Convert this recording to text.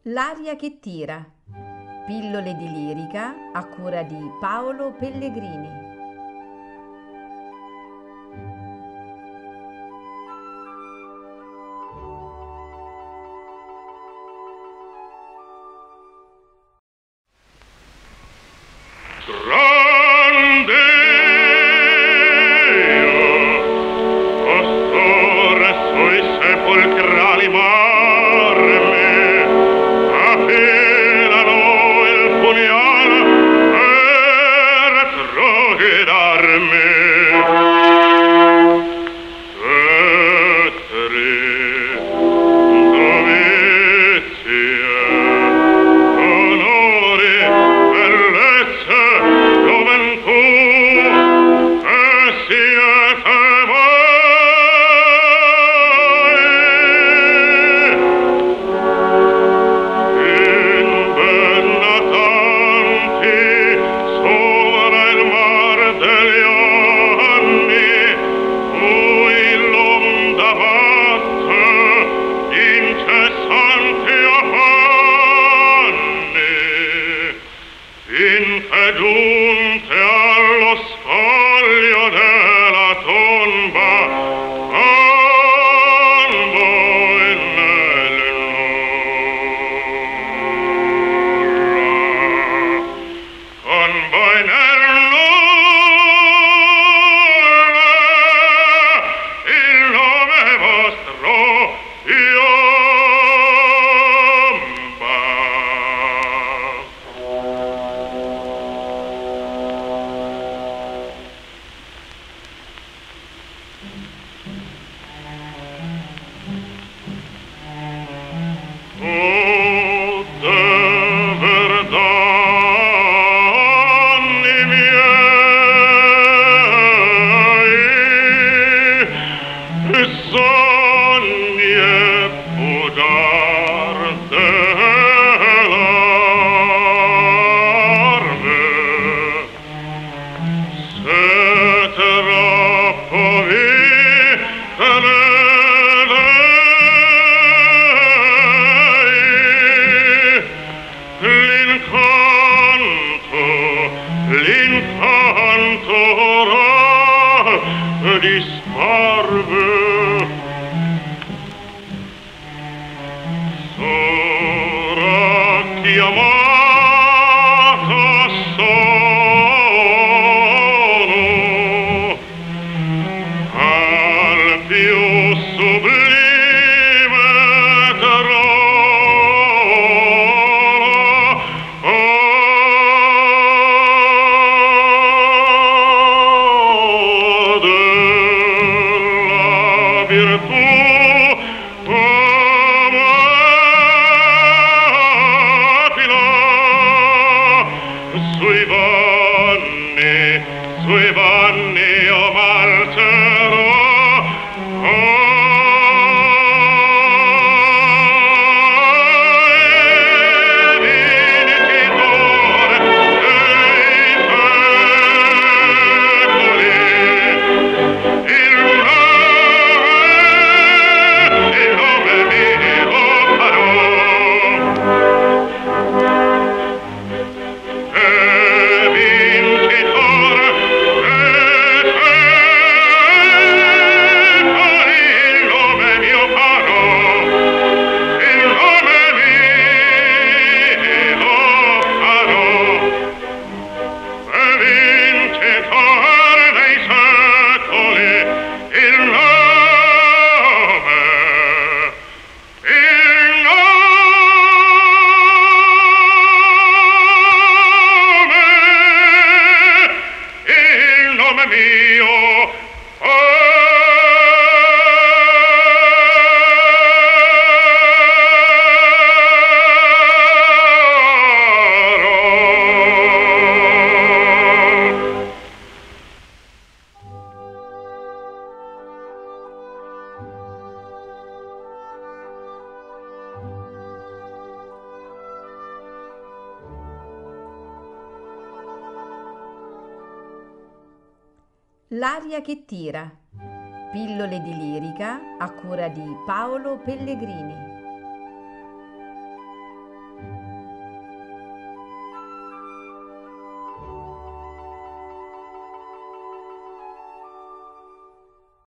L'aria che tira. Pillole di lirica a cura di Paolo Pellegrini. Grande pastore sui sepolcrali marmi, affilano il pugnal per troghedarmi. Cettri, dovizie, onori, bellezze, gioventù, e siete voi. Inbennatanti sopra il mar degli anni, cui l'onda batte incessanti affanni, finché giunte allo scoglio della tomba, con voi nel nulla, con voi nel nulla, il nome vostro piomba. Tutte verdani miei, sogni e bugiarde larve, se troppo vi l'incanto ora disparve. Sora chiamata sono al più sublime trono della virtù amatila. Sui vanni io marcerò, vincitore dei secoli, il nome mio farò. Vincitore dei secoli, il nome mio farò, il nome mio farò. Vincitore dei secoli, il nome, il nome mio farò. L'aria che tira. Pillole di lirica a cura di Paolo Pellegrini.